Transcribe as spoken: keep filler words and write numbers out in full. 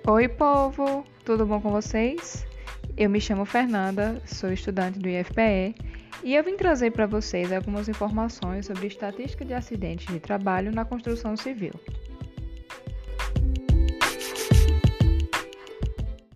Oi, povo! Tudo bom com vocês? Eu me chamo Fernanda, sou estudante do I F P E e eu vim trazer para vocês algumas informações sobre estatística de acidentes de trabalho na construção civil.